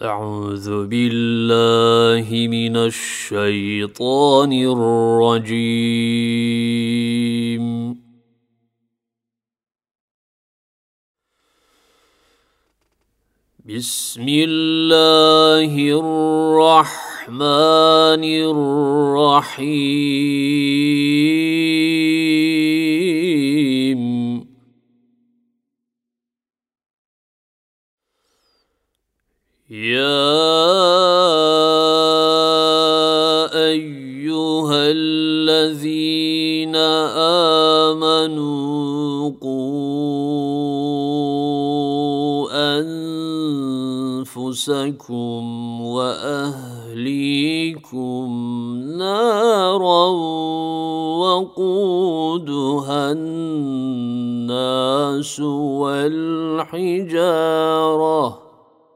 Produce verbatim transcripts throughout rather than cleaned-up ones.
أعوذ بالله من الشيطان الرجيم. بسم الله الرحمن الرحيم. يا أيها الذين آمنوا قوا أنفسكم وأهليكم نارا وقودها الناس والحجارة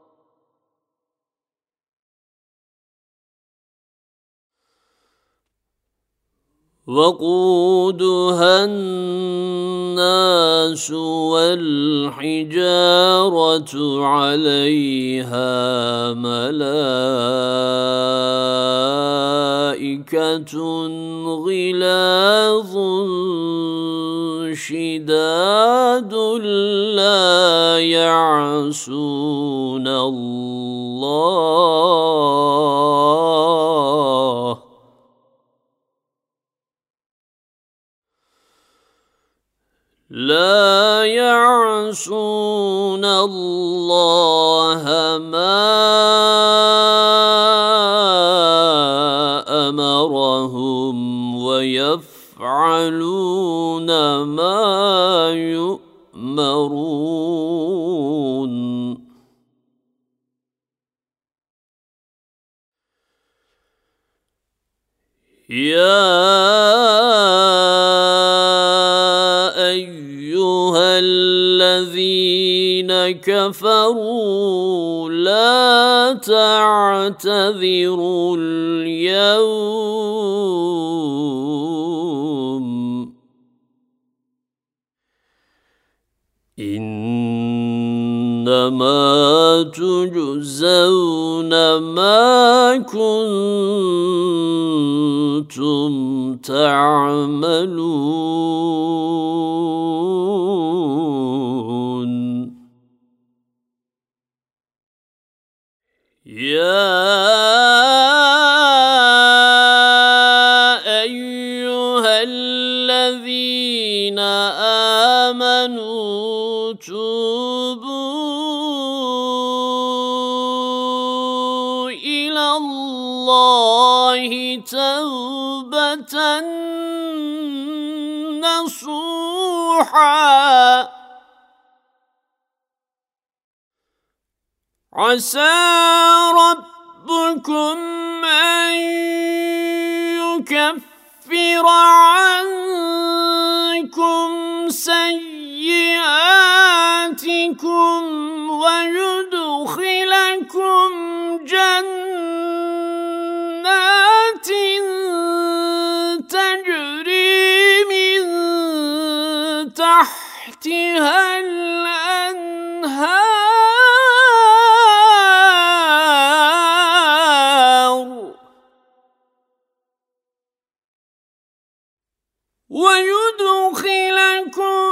وقودها الناس والحجارة عليها ملائكة غلاظ شداد لا يعصون الله لا يعصون الله ما أمرهم ويفعلون ما يؤمرون. يا أيها الذين كفروا لا تعتذروا اليوم إنما تجزون ما كنتم تعملون. يا أيها الذين آمنوا توبوا إلى الله توبة نصوحا عسى ربكم أن يكفر عنكم سيئاتكم ويدخلكم جنات تجري من تحتها الأنهار ويدخلكم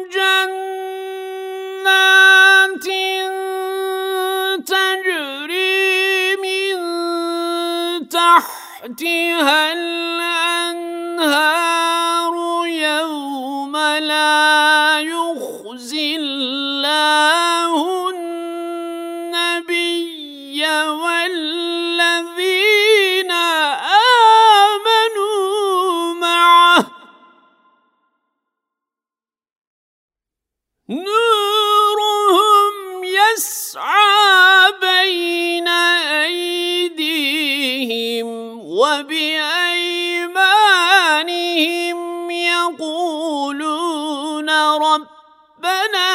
جنات تجري من تحتها الأنهار يوم لا يخزي الله النبي والذين آمنوا معه نورهم يسعى بين أيديهم وبأيمانهم يقولون ربنا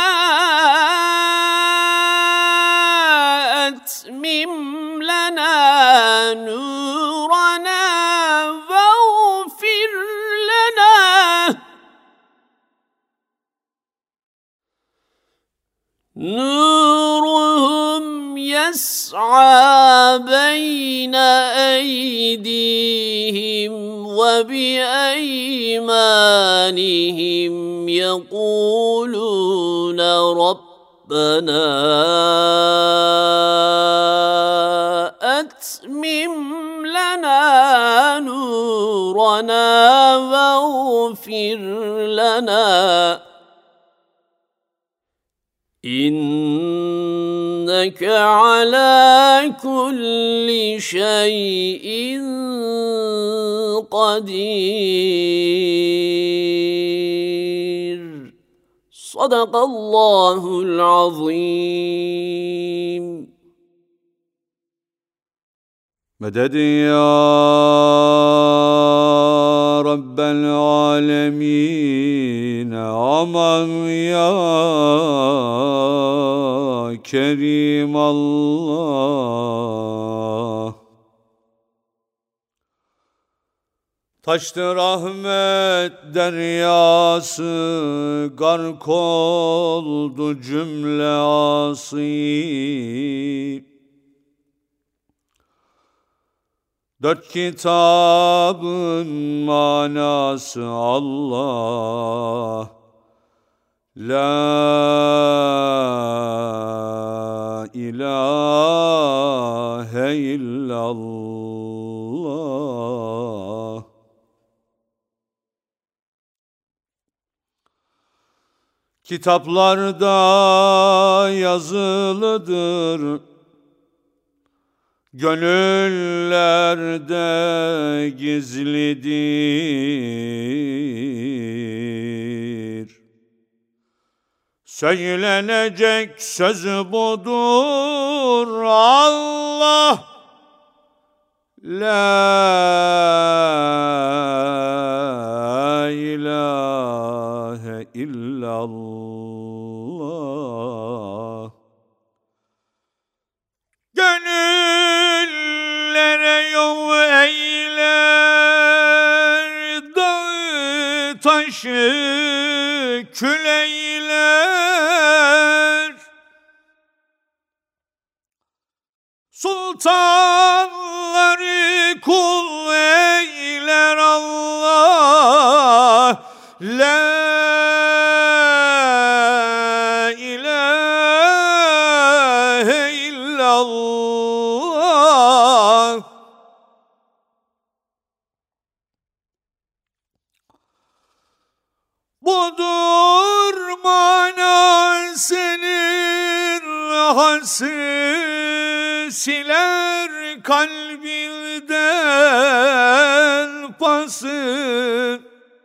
أتمم لنا نورنا واغفر لنا نورهم يسعى بين أيديهم وبأيمانهم يقولون ربنا أتمم لنا نورنا واغفر لنا إنك على كل شيء قدير. صدق الله العظيم. مدد يا رب العالمين aman ya Kerim Allah. Taştı rahmet deryası, gark oldu cümle asi. Dört kitabın manası Allah, La ilahe illallah. Kitaplarda yazılıdır, gönüllerde gizlidir. Söylenecek söz budur Allah, La ilahe illallah. Gönüllere yol eyler, dağı taşı kül eyler. Sultanları kul eyler Allah, La ilahe illallah. Budur mana senin hası, siler kalbinden pası.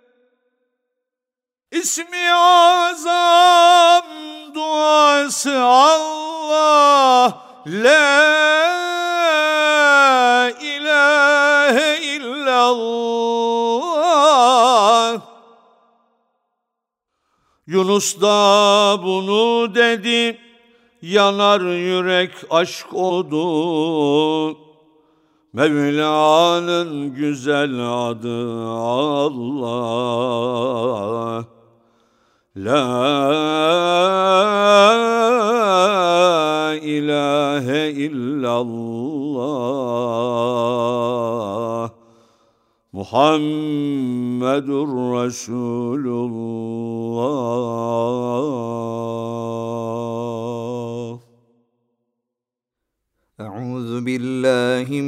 İsmi azam duası Allah, La ilahe illallah. Yunus da bunu dedi, yanar yürek aşk oldu. Mevla'nın güzel adı Allah, La ilahe illallah. Muhammedur Resulullah. Euzu billahi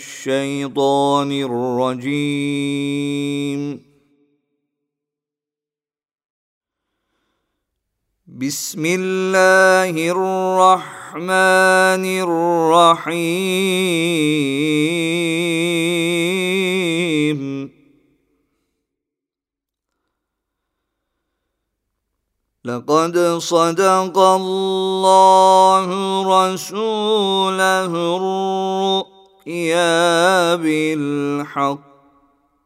mineşşeytanirracim. Bismillahirrahmanirrahim. لقد صدق الله رسوله الرؤيا بالحق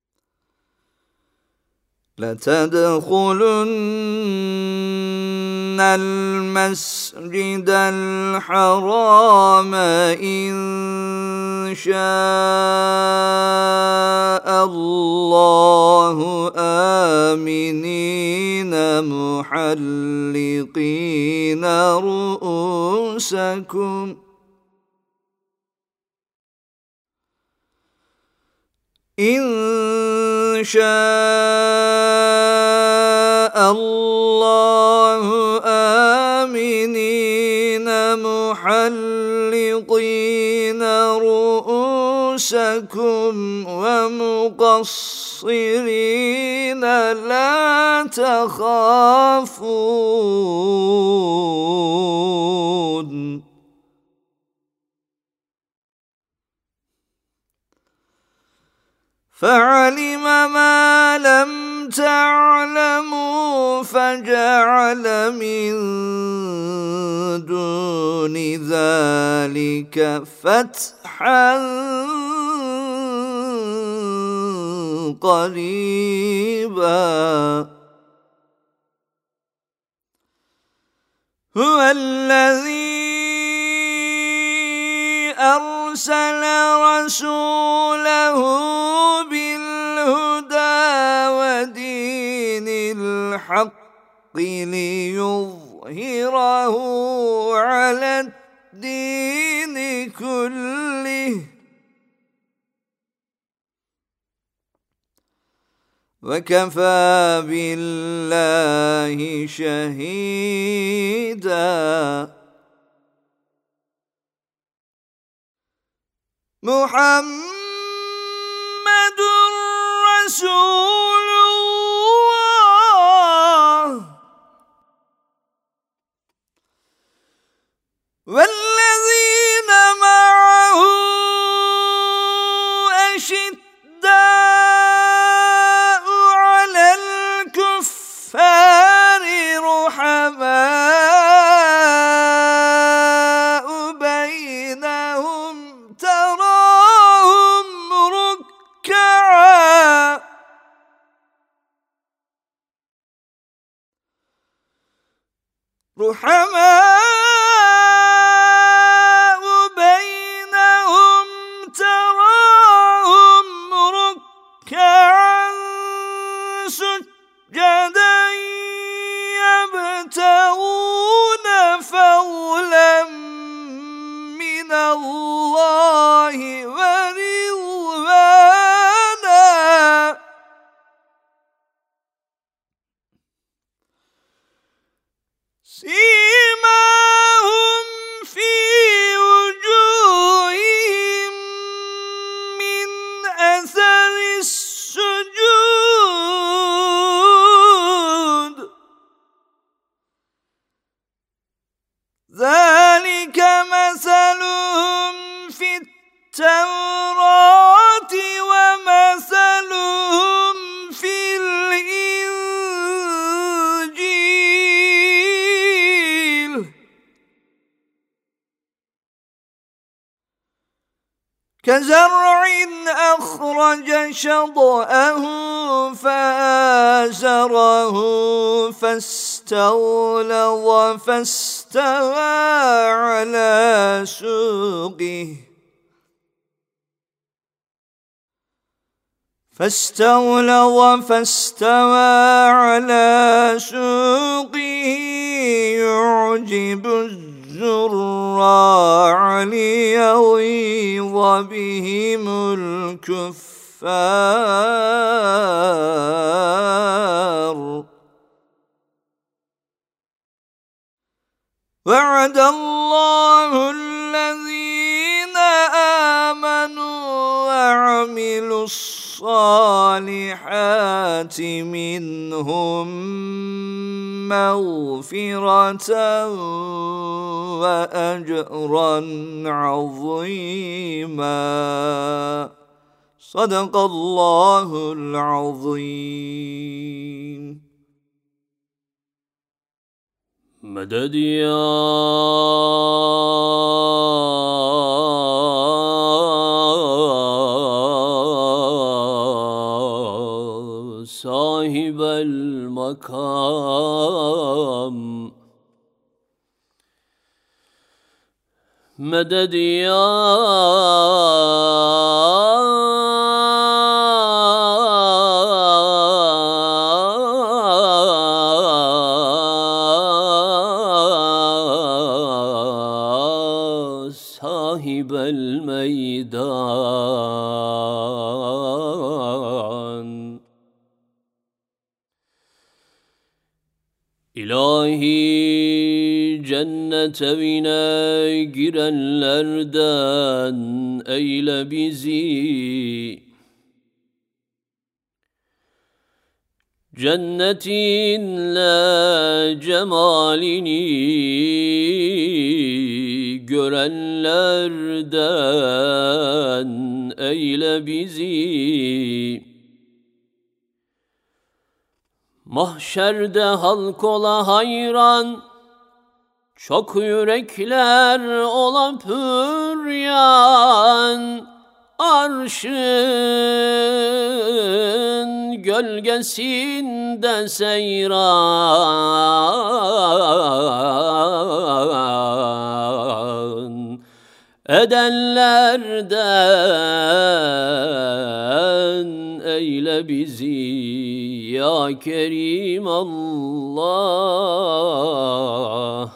لتدخلن المسجد الحرام إن شاء الله آمنين محلقين رؤوسكم إن شاء الله آمنين محلقين رؤوسكم ومقصرين لا تخافون فعلم ما لم تعلموا فجعل من دون ذلك فتحا قريبا هو الذي أرسل رسوله بالهدى ودين الحق ليظهره على الدين كله وكفى بالله شهيدا محمد رسول الله والذين معه أشداء على الكفار رحماء بينهم تراهم ركعا رحماء بينهم تراهم ركعا سجدا يبتغون فضلا من الله ورضوانا سيماهم في وجوههم من أثر السجود ذلك مثلهم في التوراة ومثلهم في الإنجيل كزرع أخرج شطأه فآزره فاستغلظ فاستوى على سوقه فاستغلظ فاستوى على سوقه يعجب الزراع ليغيظ بهم الكفار وعد الله الذين آمنوا وعملوا الصالحات منهم مغفرة وأجرا عظيما صدق الله العظيم. مدد يا صاحب المقام مدد يا صاحب الميدان İlahi cennet evine girenlerden eyle bizi. Cennetinle cemalini görenlerden eyle bizi. Mahşerde halk ola hayran, çok yürekler ola püryan, arşın gölgesinde seyran edenlerden eyle bizi ya Kerim Allah.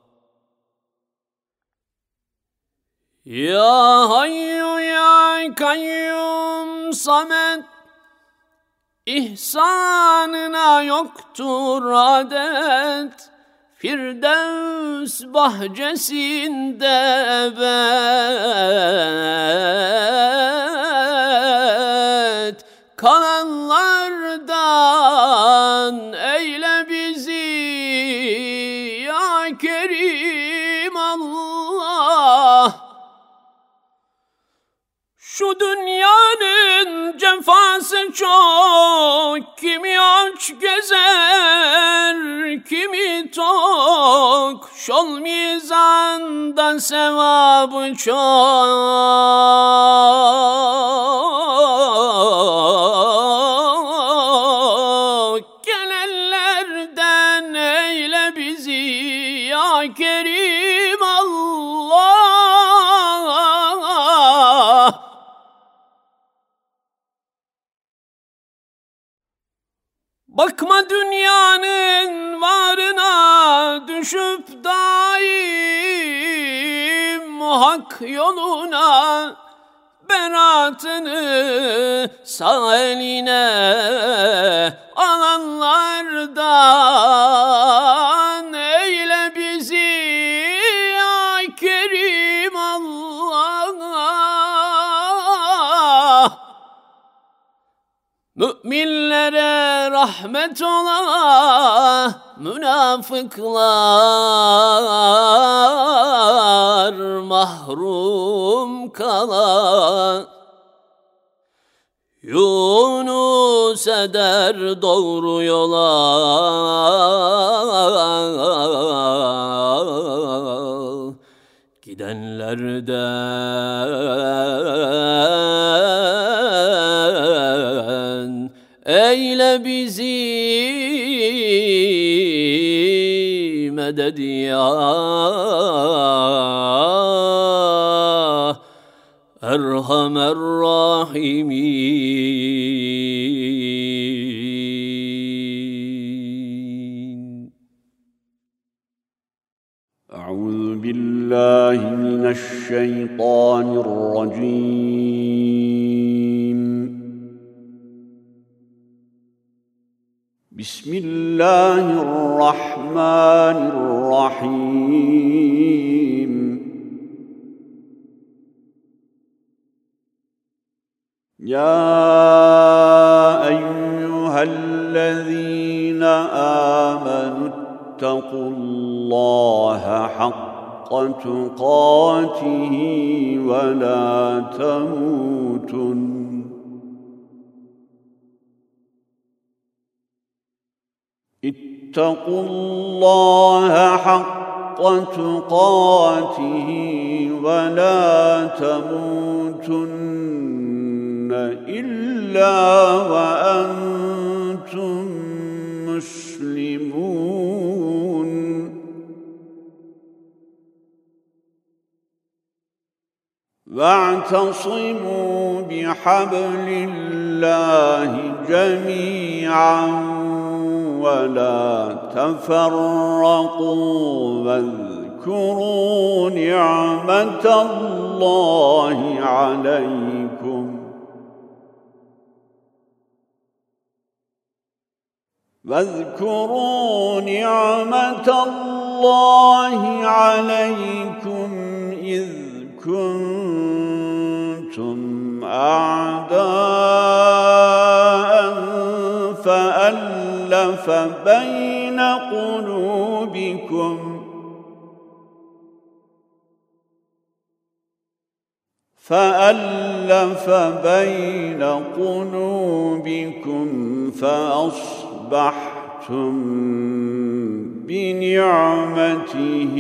Ya Hayyu ya Kayyum Samet, İhsanına yoktur adet, Firdevs bahçesinde ebed kalanlardan eyle bizi ya Kerim Allah. Şu dünyanın cefası çok, kimi aç gezer, kimi tok, şol mizanda sevabı çok. Gelenlerden eyle bizi ya Kerim Allah. Bakma dünyanın varına, düşüp daim hak yoluna, beratını sağ eline alanlardan eyle bizi ya Kerim Allah. Müminlere rahmet ola, münafıklar mahrum kala. Yunus eder doğru yola, gidenlerden eyle bizi medet ya Erhamer Rahimin. Euzu billahi mineşşeytanirracim. Bismillahirrahmanirrahim. Ya eyyühellezîne âmenü ittakullâhe hakka tukâtihi ve lâ temûtun ittakullâhe hakka tukâtihi ve lâ temûtunne illâ ve entum muslimun. واعتصموا بحبل الله جميعا ولا تفرقوا واذكروا نعمة الله عليكم واذكروا نعمة الله عليكم إذ كنتم أعداء فألف بين قلوبكم فألف بين قلوبكم فأصبحتم بنعمته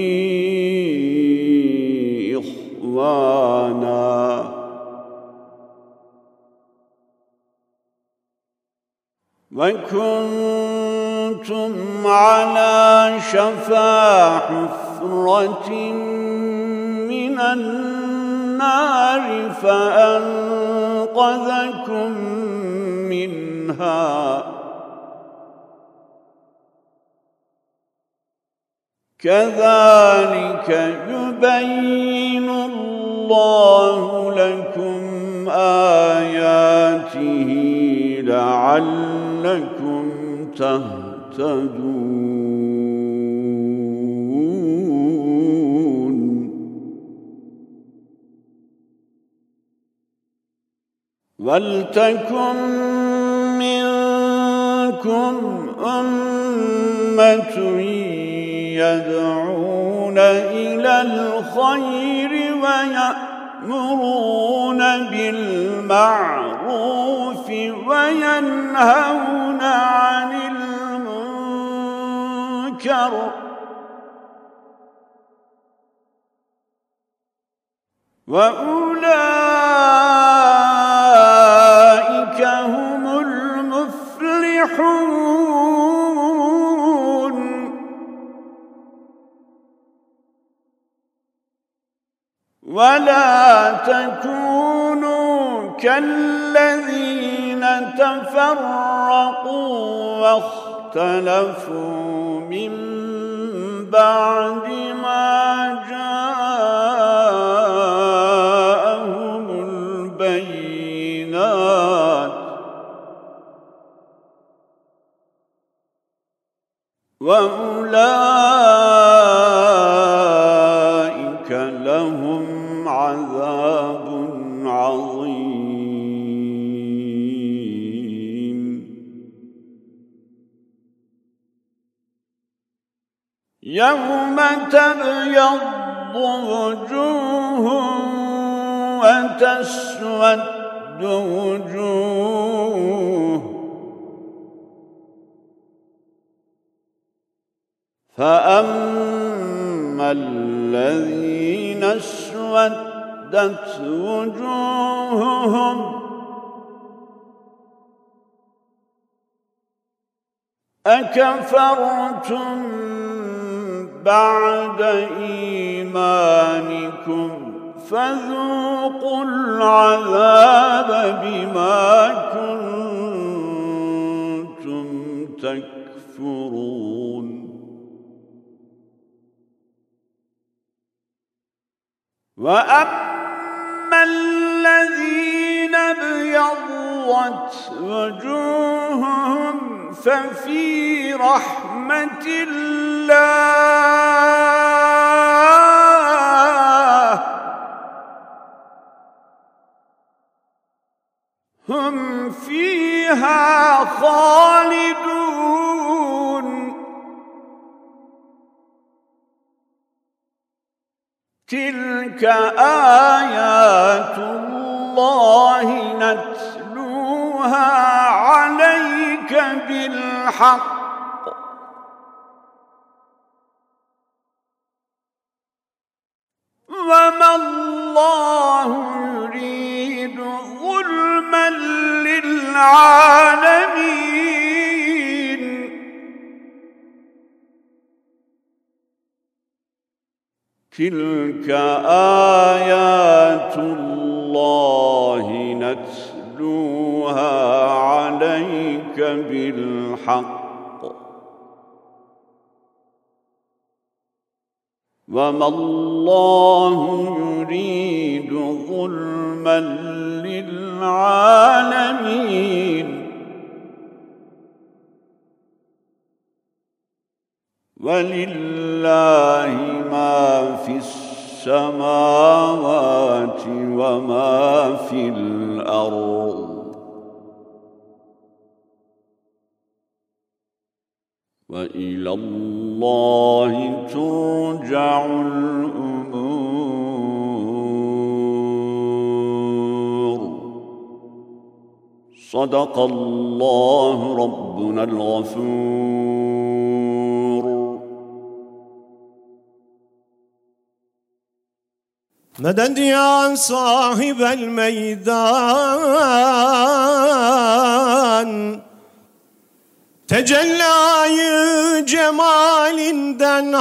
إخوانا وكنتم على شفا حفرة من النار فأنقذكم منها كذلك يبين الله لكم آياته لعلكم تهتدون ولتكن منكم أمة يدعون إلى الخير ويأمرون بالمعروف وينهون عن المنكر وأولئك هم المفلحون ولا تكونوا كالذين تفرقوا واختلفوا من بعد ما جاءهم البينات وأولئك لهم عذاب عظيم يوم تبيض وجوه وتسود وجوه فأما الذين اسودت وجوههم أكفرتم بعد إيمانكم فذوقوا العذاب بما كنتم تكفرون وأما الذين ابيضت وجوههم ففي رحمة الله هم فيها خالدون تلك آيات الله نتلوها عليك بالحق وما الله يريد ظلما للعالمين. تلك آيات الله نتلوها عليك بالحق وما الله يريد ظلما للعالمين ولله ما في السماوات وما في الأرض وإلى الله ترجع الأمور صدق الله ربنا الغفور. مدد يا صاحب المeydan, tecellayı cemalinden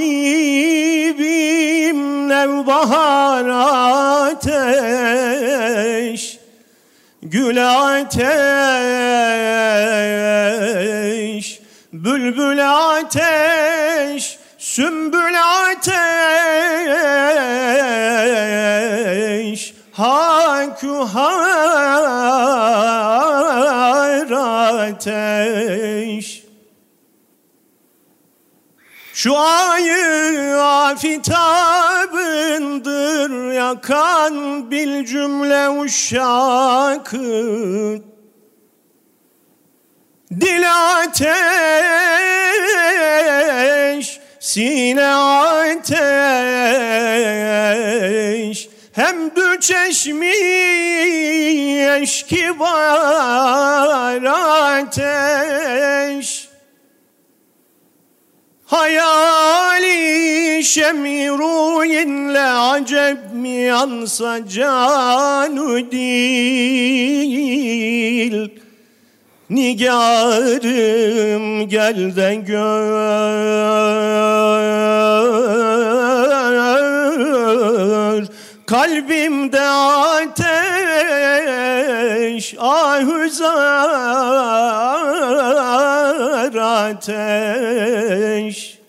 Habibim nevbahar ateş, gül ateş, bülbül ateş, sümbül ateş, hakuhar ateş. Şu ayı afitabındır yakan bil cümle uşakı, dil ateş, sine ateş, hem dü çeşmi eşki var ateş. Hayali şemiruyinle acep mi yansa canü dil, nigarım gel de gör, kalbimde ateş, ahuzar ateş.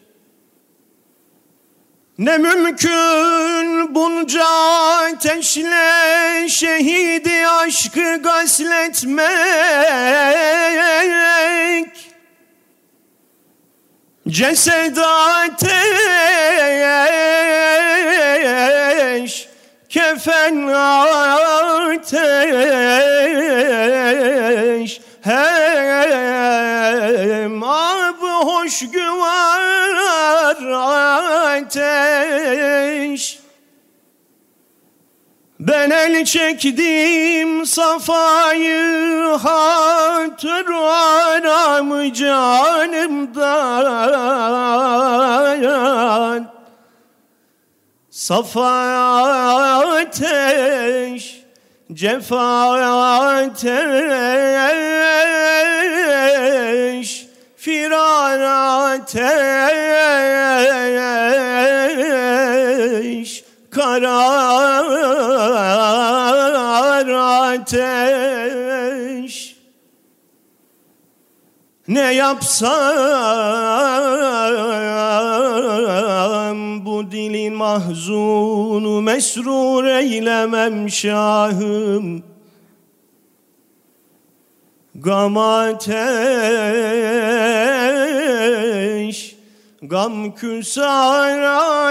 Ne mümkün bunca ateşle şehidi aşkı gasletmek, cesed ateş, kefen ateş, hem ab-ı hoş güvar ateş. Ben el çektim safayı hatır aramı canımdan, safa ateş, cefa ateş, firar ateş, karar ateş. Ne yapsam bu dilin mahzunu mesrur eylemem şahım, gam ateş, gam küsar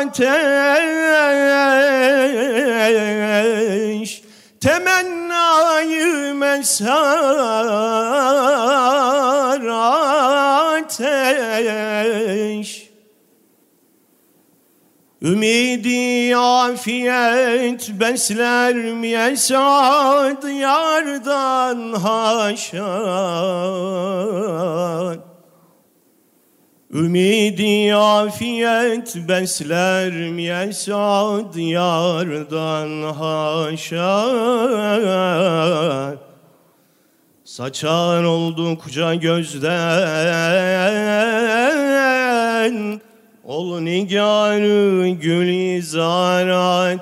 ateş, temennayı mesar ateş. Ümidi afiyet besler mi esad yardan haşa, ümidi afiyet besler mi esad yardan haşa. Saçar oldukça gözden ol nigar-ı gülizar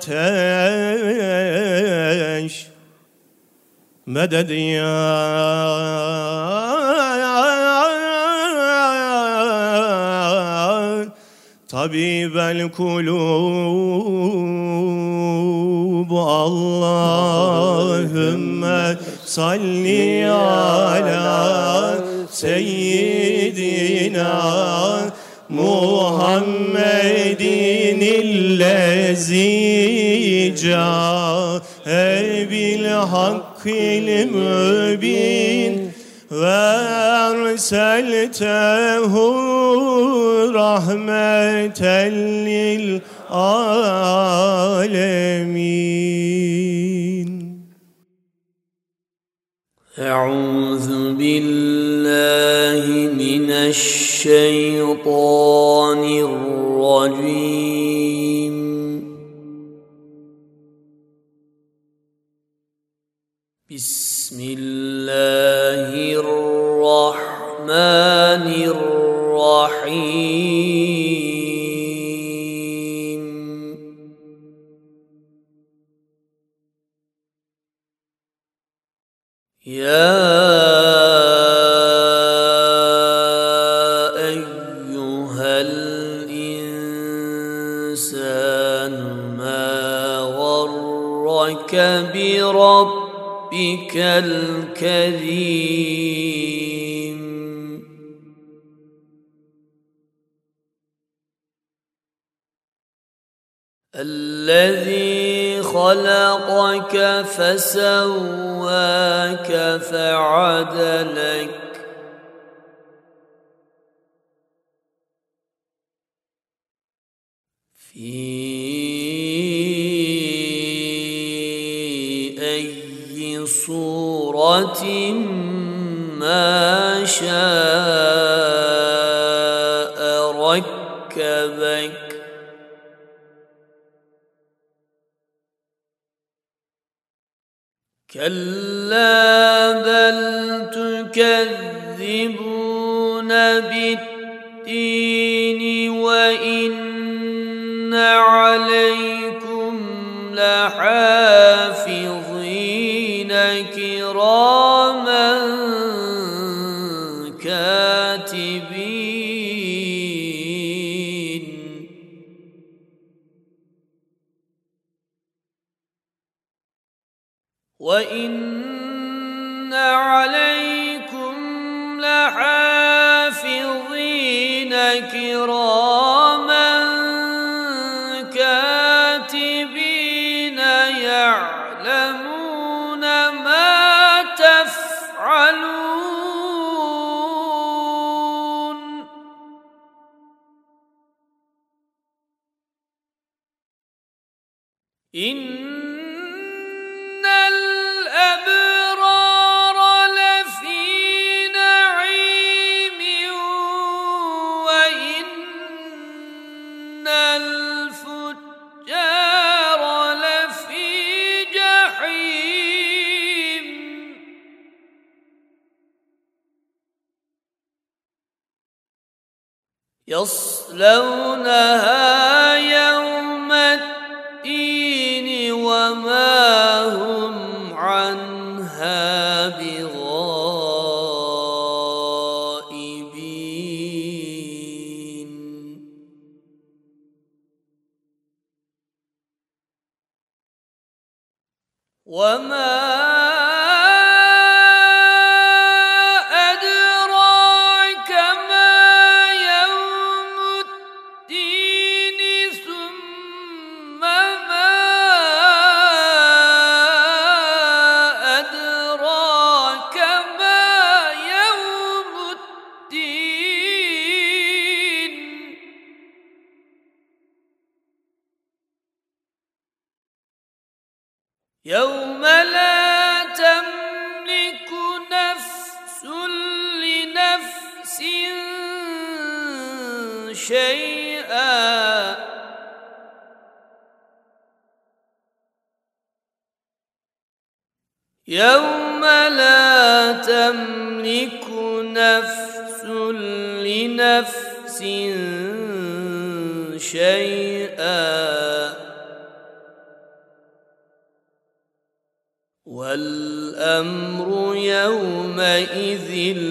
ateş. Meded ya tabibel kulub, Allahümme salli ala seyyidina Muhammedin illezi câe bil hakkil mübin ve erseltehu rahmeten lil alemin. Euzu billahi mineşşeytanirracim. Bismillahirrahmanirrahim. Ya eyyuhel insanu ma gharrake bi rabbikel kerim. الذي خلقك فسواك فعدلك في أي صورة ما شاء ركبك كلا بل تكذبون بالدين وإن عليكم لحافظين كراما كاتبين وَإِنَّ عَلَيْكُمْ لَحَافِظِينَ كِرَامًا كَاتِبِينَ يَعْلَمُونَ مَا تَفْعَلُونَ إِنَّ الأبرار لفي نعيم وإن الفجار لفي جحيم يصلونها يوم الدين وما هم عنها بغائبين وما أدراك ما يوم الدين ثم ما أدراك ما يوم الدين يوم لا تملك نفس لنفس شيئا يوم لا تملك نفس لنفس شيئا والأمر يومئذ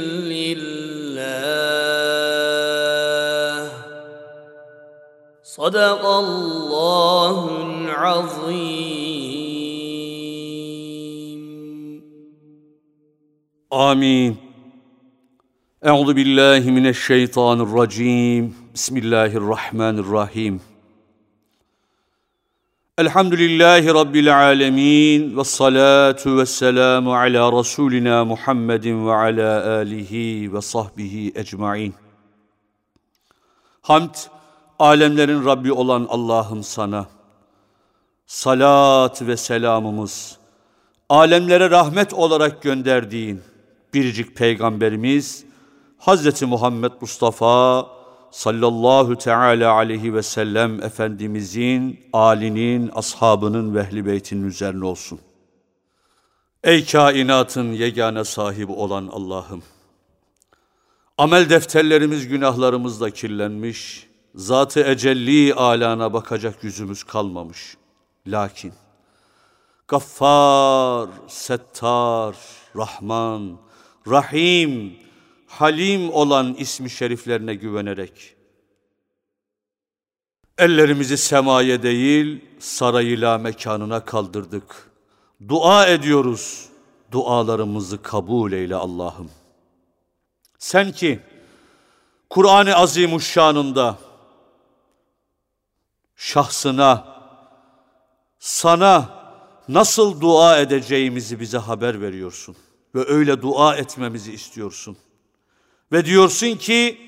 لله صدق الله العظيم. آمين. أعوذ بالله من الشيطان الرجيم. بسم الله الرحمن الرحيم. الحمد لله رب العالمين والصلاة والسلام على رسولنا محمد وعلى آله وصحبه ecmaîn. Hamd, alemlerin Rabbi olan Allah'ım sana. Salat ve selamımız, alemlere rahmet olarak gönderdiğin biricik Peygamberimiz Hazreti Muhammed Mustafa sallallahu teala aleyhi ve sellem Efendimizin, âlinin, ashabının ve ehl-i beytinin üzerine olsun. Ey kainatın yegane sahibi olan Allah'ım! Amel defterlerimiz günahlarımızla kirlenmiş, zat-ı ecelli alana bakacak yüzümüz kalmamış. Lakin Gaffar, Settar, Rahman, Rahim, Halim olan ismi şeriflerine güvenerek ellerimizi semaya değil sarayıyla mekanına kaldırdık. Dua ediyoruz, dualarımızı kabul eyle Allah'ım. Sen ki Kur'an-ı Azimuşşan'ında şahsına, sana nasıl dua edeceğimizi bize haber veriyorsun ve öyle dua etmemizi istiyorsun. Ve diyorsun ki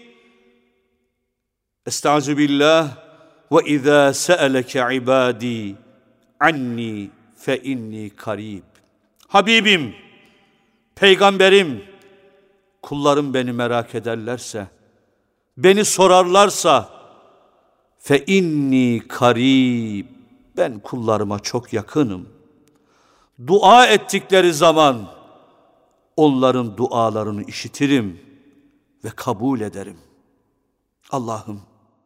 Estaizu billah ve izâ se'eleke ibâdî anni fe inni karib. Habibim, peygamberim, kullarım beni merak ederlerse, beni sorarlarsa fe inni karib, ben kullarıma çok yakınım. Dua ettikleri zaman onların dualarını işitirim ve kabul ederim. Allah'ım,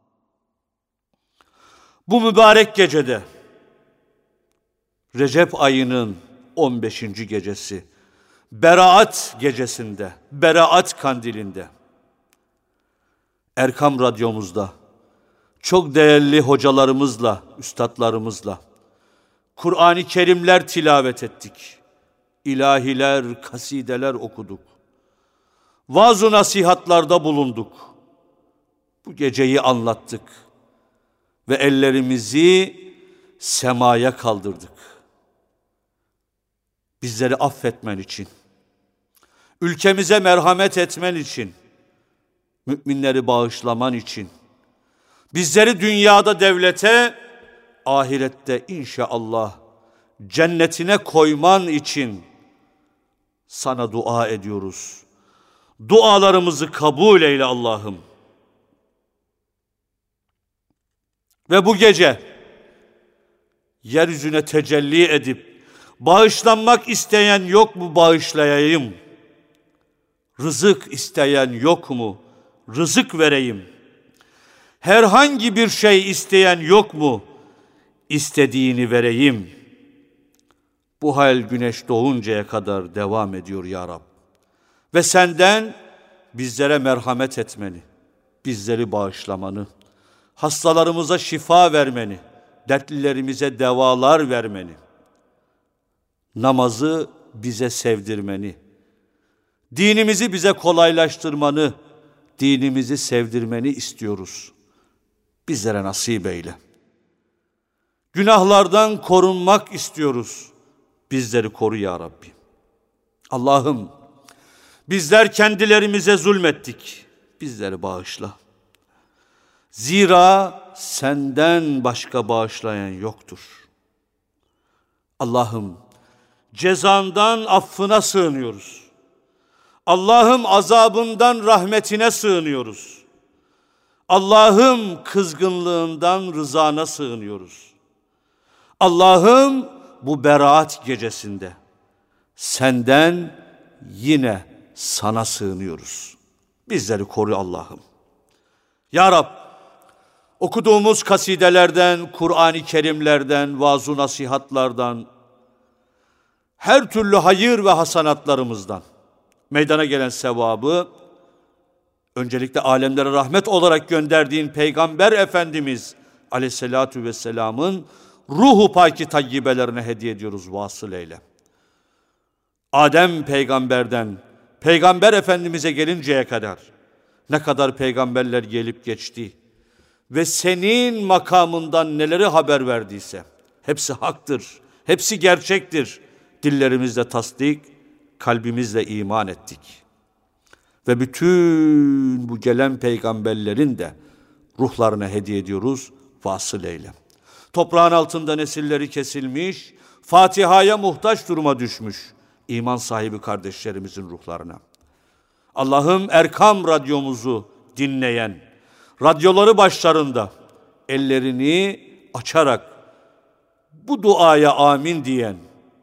bu mübarek gecede, Recep ayının on beşinci gecesi, Beraat gecesinde, Beraat kandilinde, Erkam Radyomuzda, çok değerli hocalarımızla, üstadlarımızla, Kur'an-ı Kerimler tilavet ettik. İlahiler, kasideler okuduk. Vaaz-ı nasihatlarda bulunduk. Bu geceyi anlattık. Ve ellerimizi semaya kaldırdık. Bizleri affetmen için, ülkemize merhamet etmen için, müminleri bağışlaman için, bizleri dünyada devlete, ahirette inşallah cennetine koyman için sana dua ediyoruz. Dualarımızı kabul eyle Allah'ım. Ve bu gece yeryüzüne tecelli edip bağışlanmak isteyen yok mu bağışlayayım? Rızık isteyen yok mu? Rızık vereyim. Herhangi bir şey isteyen yok mu? İstediğini vereyim. Bu hal güneş doğuncaya kadar devam ediyor ya Rab. Ve senden bizlere merhamet etmeni, bizleri bağışlamanı, hastalarımıza şifa vermeni, dertlilerimize devalar vermeni, namazı bize sevdirmeni, dinimizi bize kolaylaştırmanı, dinimizi sevdirmeni istiyoruz. Bizlere nasip eyle. Günahlardan korunmak istiyoruz. Bizleri koru ya Rabbi. Allah'ım, bizler kendilerimize zulmettik. Bizleri bağışla. Zira senden başka bağışlayan yoktur. Allah'ım, cezandan affına sığınıyoruz. Allah'ım, azabından rahmetine sığınıyoruz. Allah'ım, kızgınlığından rızana sığınıyoruz. Allah'ım, bu beraat gecesinde senden yine sana sığınıyoruz. Bizleri koru Allah'ım. Ya Rab, okuduğumuz kasidelerden, Kur'an-ı Kerimlerden, vaaz-ı nasihatlardan, her türlü hayır ve hasanatlarımızdan meydana gelen sevabı, öncelikle alemlere rahmet olarak gönderdiğin Peygamber Efendimiz Aleyhisselatü Vesselam'ın ruhu paki tayyibelerine hediye ediyoruz, vasıl eyle. Adem peygamberden Peygamber Efendimiz'e gelinceye kadar ne kadar peygamberler gelip geçti ve senin makamından neleri haber verdiyse hepsi haktır, hepsi gerçektir. Dillerimizle tasdik, kalbimizle iman ettik. Ve bütün bu gelen peygamberlerin de ruhlarına hediye ediyoruz, vasıl eyle. Toprağın altında nesilleri kesilmiş, Fatiha'ya muhtaç duruma düşmüş iman sahibi kardeşlerimizin ruhlarına. Allah'ım Erkam radyomuzu dinleyen, radyoları başlarında ellerini açarak bu duaya amin diyen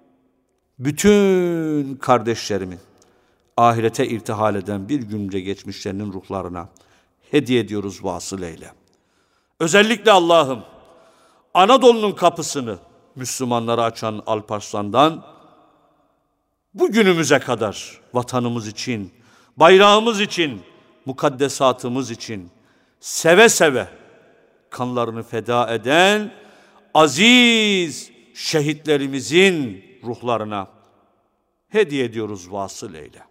bütün kardeşlerimin ahirete irtihal eden bir günce geçmişlerinin ruhlarına hediye ediyoruz, vasıl eyle. Özellikle Allah'ım Anadolu'nun kapısını Müslümanlara açan Alparslan'dan bugünümüze kadar vatanımız için, bayrağımız için, mukaddesatımız için seve seve kanlarını feda eden aziz şehitlerimizin ruhlarına hediye ediyoruz, vasıl eyle.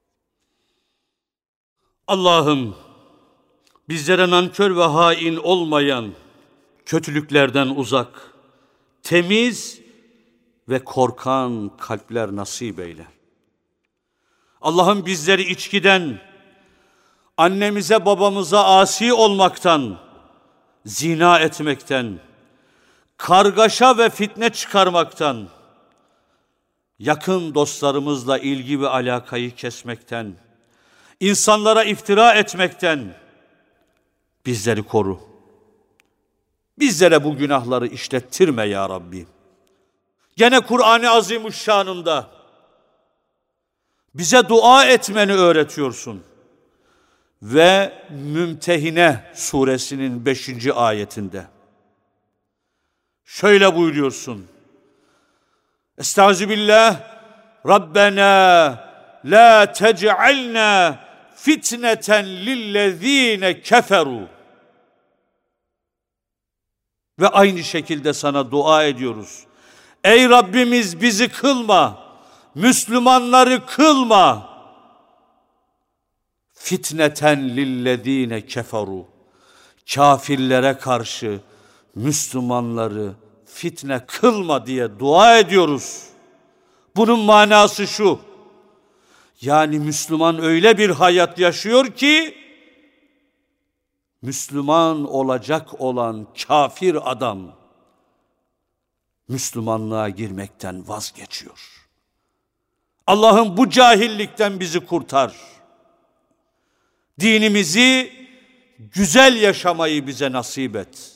Allah'ım bizlere nankör ve hain olmayan, kötülüklerden uzak, temiz ve korkan kalpler nasip eyle. Allah'ım bizleri içkiden, annemize babamıza asi olmaktan, zina etmekten, kargaşa ve fitne çıkarmaktan, yakın dostlarımızla ilgi ve alakayı kesmekten, insanlara iftira etmekten bizleri koru. Bizlere bu günahları işlettirme ya Rabbi. Gene Kur'an-ı Azimuşşan'ında bize dua etmeni öğretiyorsun. Ve Mümtehine suresinin beşinci ayetinde şöyle buyuruyorsun. Estağfirullah, Rabbena la tec'alna fitneten lillezine keferu. Ve aynı şekilde sana dua ediyoruz. Ey Rabbimiz bizi kılma, Müslümanları kılma. Fitneten lillezine keferu. Kafirlere karşı Müslümanları fitne kılma diye dua ediyoruz. Bunun manası şu. Yani Müslüman öyle bir hayat yaşıyor ki Müslüman olacak olan kafir adam Müslümanlığa girmekten vazgeçiyor. Allah'ım bu cahillikten bizi kurtar. Dinimizi güzel yaşamayı bize nasip et.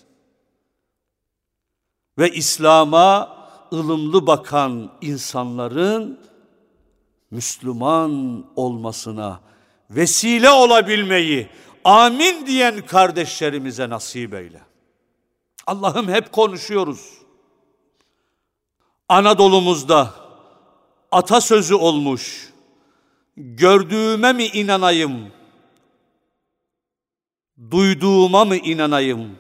Ve İslam'a ılımlı bakan insanların Müslüman olmasına vesile olabilmeyi amin diyen kardeşlerimize nasip eyle. Allah'ım hep konuşuyoruz. Anadolu'muzda atasözü olmuş. Gördüğüme mi inanayım? Duyduğuma mı inanayım?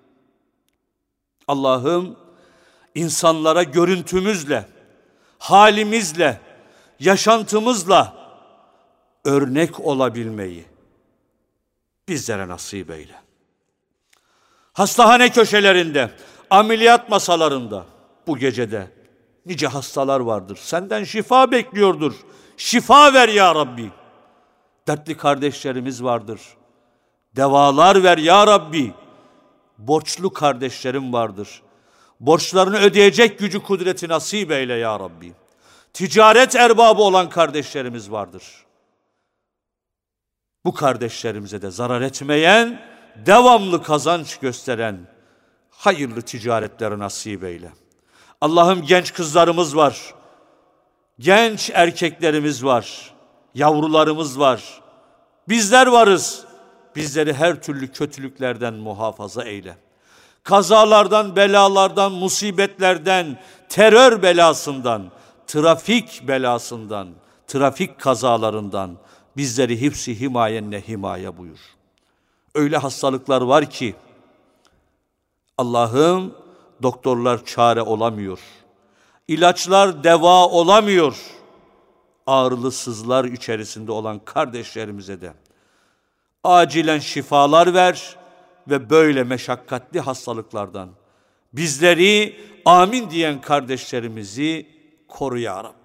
Allah'ım insanlara görüntümüzle, halimizle, yaşantımızla örnek olabilmeyi bizlere nasip eyle. Hastahane köşelerinde, ameliyat masalarında bu gecede nice hastalar vardır. Senden şifa bekliyordur. Şifa ver ya Rabbi. Dertli kardeşlerimiz vardır. Devalar ver ya Rabbi. Borçlu kardeşlerim vardır. Borçlarını ödeyecek gücü kudreti nasip eyle ya Rabbi. Ticaret erbabı olan kardeşlerimiz vardır. Bu kardeşlerimize de zarar etmeyen, devamlı kazanç gösteren hayırlı ticaretleri nasip eyle. Allah'ım genç kızlarımız var. Genç erkeklerimiz var. Yavrularımız var. Bizler varız. bizleri her türlü kötülüklerden muhafaza eyle. Kazalardan, belalardan, musibetlerden, terör belasından, trafik belasından, trafik kazalarından bizleri hifz-i himayenle himaye buyur. Öyle hastalıklar var ki Allah'ım doktorlar çare olamıyor. İlaçlar deva olamıyor. Ağrılı sızlar içerisinde olan kardeşlerimize de acilen şifalar ver ve böyle meşakkatli hastalıklardan bizleri amin diyen kardeşlerimizi koru ya Rab.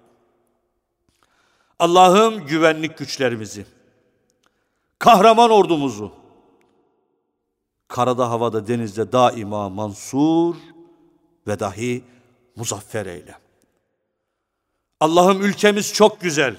Allah'ım güvenlik güçlerimizi, kahraman ordumuzu, karada, havada, denizde daima mansur ve dahi muzaffer eyle. Allah'ım ülkemiz çok güzel.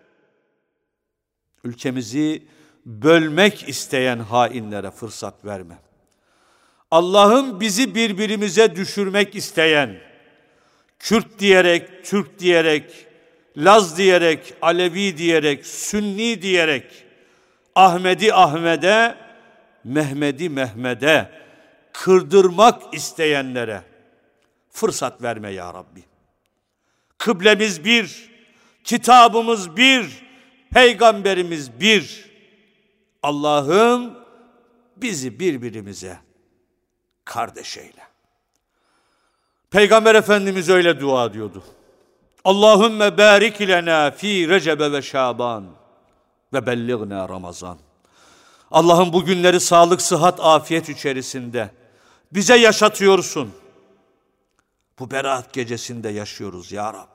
Ülkemizi bölmek isteyen hainlere fırsat verme. Allah'ım bizi birbirimize düşürmek isteyen, Kürt diyerek, Türk diyerek, Laz diyerek, Alevi diyerek, Sünni diyerek, Ahmedi Ahmet'e, Mehmedi Mehmet'e kırdırmak isteyenlere fırsat verme ya Rabbi. Kıblemiz bir, kitabımız bir, peygamberimiz bir. Allah'ım bizi birbirimize kardeş eyle. Peygamber Efendimiz öyle dua ediyordu. Allahümme barik lena fi Recebe ve Şaban ve bellighna Ramazan. Allah'ım bu günleri sağlık, sıhhat, afiyet içerisinde bize yaşatıyorsun. Bu Berat gecesinde yaşıyoruz ya Rab.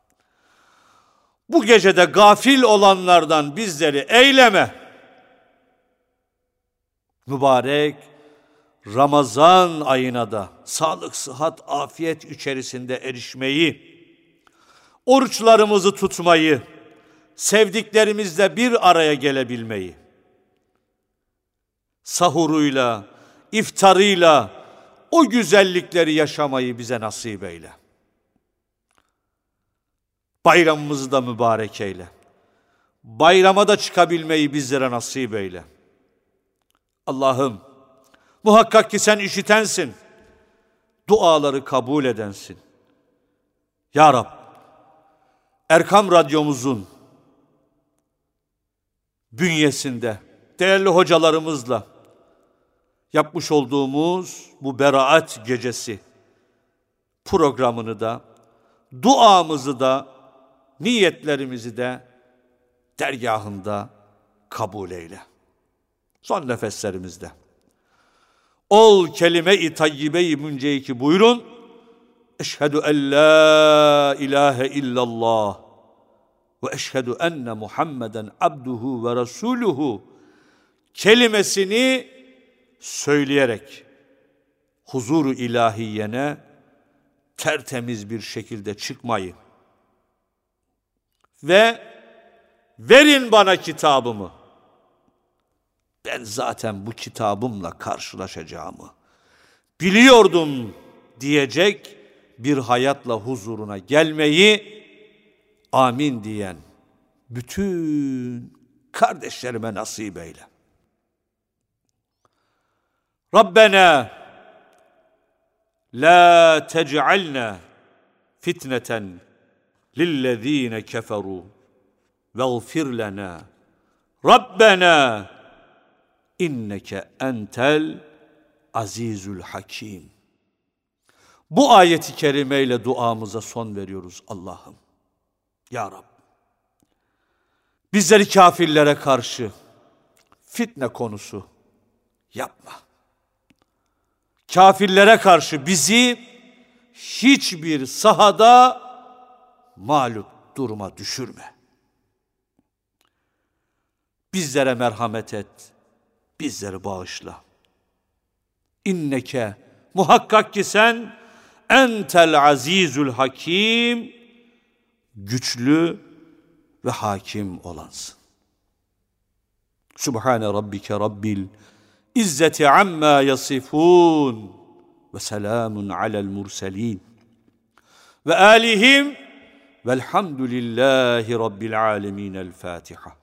Bu gecede gafil olanlardan bizleri eyleme. Mübarek Ramazan ayına da sağlık, sıhhat, afiyet içerisinde erişmeyi, oruçlarımızı tutmayı, sevdiklerimizle bir araya gelebilmeyi, sahuruyla, iftarıyla o güzellikleri yaşamayı bize nasip eyle. Bayramımızı da mübarek eyle. Bayrama da çıkabilmeyi bizlere nasip eyle. Allah'ım, muhakkak ki sen işitensin, duaları kabul edensin. Ya Rab, Erkam Radyomuzun bünyesinde değerli hocalarımızla yapmış olduğumuz bu Beraat Gecesi programını da, duamızı da, niyetlerimizi de dergahında kabul eyle. Son nefeslerimizde. Ol kelime-i tayyibe-i münceyki buyurun. Eşhedü en la ilahe illallah ve eşhedü enne Muhammeden abduhu ve resuluhu kelimesini söyleyerek huzur-u ilahiyene tertemiz bir şekilde çıkmayı ve verin bana kitabımı, ben zaten bu kitabımla karşılaşacağımı biliyordum diyecek bir hayatla huzuruna gelmeyi amin diyen bütün kardeşlerime nasip eyle. Rabbena la tec'alna fitneten lillezine keferu veğfir lena Rabbena inneke entel azizül hakim. Bu ayeti kerimeyle duamıza son veriyoruz Allah'ım. Ya Rab, bizleri kafirlere karşı fitne konusu yapma. Kafirlere karşı bizi hiçbir sahada mağlup duruma düşürme. Bizlere merhamet et, bizleri bağışla. İnneke, muhakkak ki sen entel azizül hakim, güçlü ve hakim olansın. Subhane rabbike rabbil İzzeti amma yasifun ve selamun alel murselin ve alihim velhamdülillahi rabbil alemin. El Fatiha.